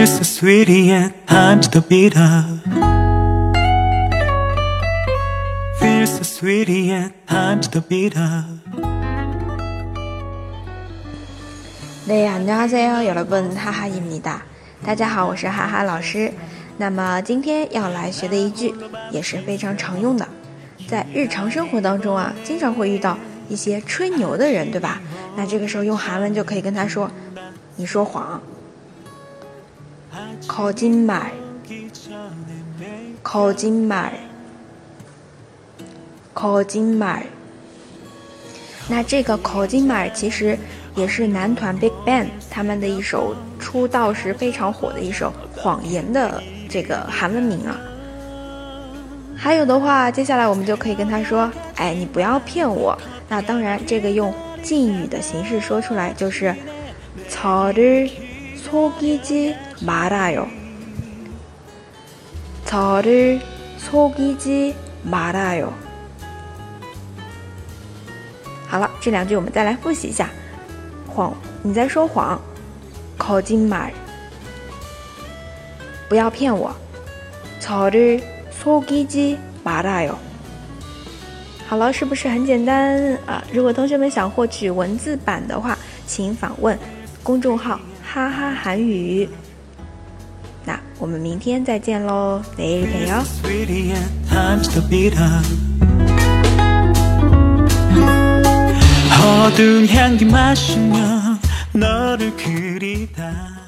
Feels so sweet yet time's the bitter Feels so sweet yet time's the bitter 네, 안녕하세요, 여러분, 하하입니다.大家好，我是哈哈老师。那么今天要来学的一句也是非常常用的，在日常生活当中啊，经常会遇到一些吹牛的人，对吧？那这个时候用韩文就可以跟他说，你说谎。거짓말 거짓말 거짓말。那这个거짓말其实也是男团 BigBang 他们的一首出道时非常火的一首谎言的这个韩文名啊。还有的话，接下来我们就可以跟他说，哎，你不要骗我。那当然这个用敬语的形式说出来就是저를 속이지 말아요 저를 속이지 말아요。好了，这两句我们再来复习一下。谎，你在说谎。거짓말，不要骗我。저를 속이지 말아요。好了，是不是很简单啊？如果同学们想获取文字版的话，请访問公众号哈哈韩语。那我们明天再见喽，내일 봬요。 어두운 향기 마시며 너를 그리다